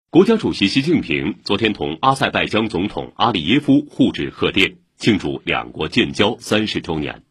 国家主席习近平昨天同阿塞拜疆总统阿里耶夫互致贺电，庆祝两国建交30周年。